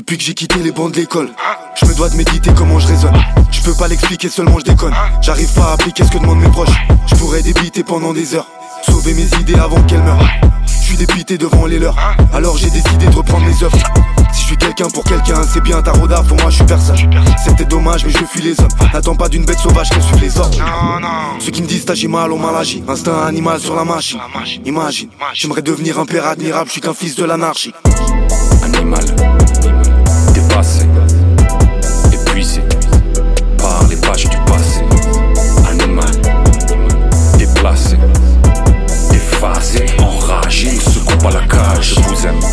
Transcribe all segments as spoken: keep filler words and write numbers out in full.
Depuis que j'ai quitté les bancs de l'école, je me dois de méditer comment je raisonne. Je peux pas l'expliquer, seulement je déconne. J'arrive pas à appliquer ce que demandent mes proches. Je pourrais débiter pendant des heures, sauver mes idées avant qu'elles meurent. Je suis dépité devant les leurs, alors j'ai décidé de reprendre mes œuvres. Si je suis quelqu'un pour quelqu'un, c'est bien ta roda, pour moi je suis personne. C'était dommage mais je fuis les hommes. N'attends pas d'une bête sauvage qu'elle suive les ordres. Ceux qui me disent t'agis mal ont mal agi. Instinct animal sur la machine. Imagine, j'aimerais devenir un père admirable, je suis qu'un fils de l'anarchie. Animal, dépassé, épuisé par les pages du passé. Animal, déplacé, déphasé, enragé, ne se coupe à la cage. Je vous aime,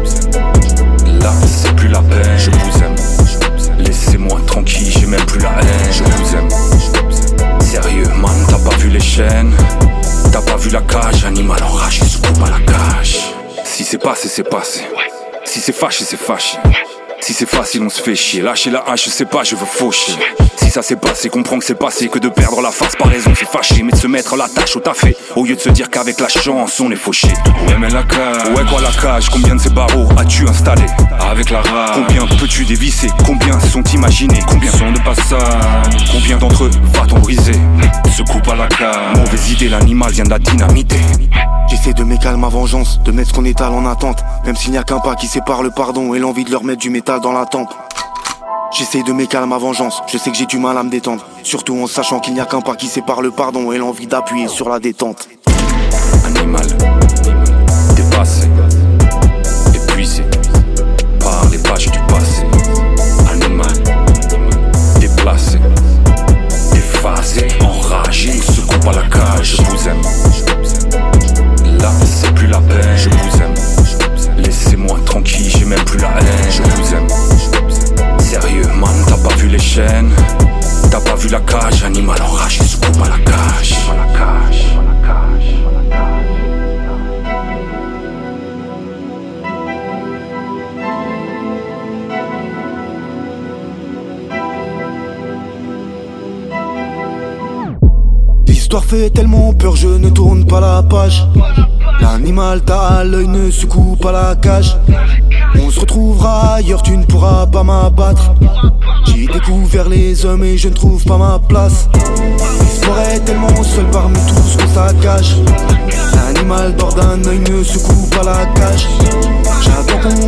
là c'est plus la peine. Je vous aime, laissez-moi tranquille, j'ai même plus la haine. Je vous aime, sérieux man, t'as pas vu les chaînes, t'as pas vu la cage. Animal enragé, se coupe à la cage. Si c'est passé, c'est passé. Si c'est fâché, c'est fâché. Si c'est facile, on se fait chier. Lâcher la hache, je sais pas, je veux faucher. Si ça s'est passé, comprends que c'est passé. Que de perdre la face par raison, c'est fâché. Mais de se mettre la tâche au taffé, au lieu de se dire qu'avec la chance, on est fauché. Ouais, mais la cage, ouais, quoi la cage? Combien de ces barreaux as-tu installé avec la rage? Combien peux-tu dévisser? Combien sont imaginés? Combien sont de passage? Combien d'entre eux va-t-on briser? Se coupe à la cage. Mauvaise idée, l'animal vient de la dynamiter. J'essaie de m'écaler ma vengeance, de mettre ce qu'on étale en attente. Même s'il n'y a qu'un pas qui sépare le pardon et l'envie de leur mettre du métal dans la tempe. J'essaie de m'écaler ma vengeance, je sais que j'ai du mal à me détendre. Surtout en sachant qu'il n'y a qu'un pas qui sépare le pardon et l'envie d'appuyer sur la détente. Animal, dépassé, épuisé par les pages du passé. Animal, déplacé, déphasé, enragé, ne se coupe à la cage. Je vous aime, là c'est plus la peine. Je vous aime, laissez-moi tranquille, j'ai même plus la haine. Je vous aime, sérieux man, t'as pas vu les chaînes, t'as pas vu la cage. Animal enragé, se coupe à la cage. L'histoire fait tellement peur, je ne tourne pas la page. L'animal t'a à l'œil, ne se coupe à la cage. On se retrouvera ailleurs, tu ne pourras pas m'abattre. J'ai découvert les hommes et je ne trouve pas ma place. L'histoire est tellement seule parmi tous qu'on saccage. L'animal dort d'un œil, ne se coupe à la cage. J'attends qu'on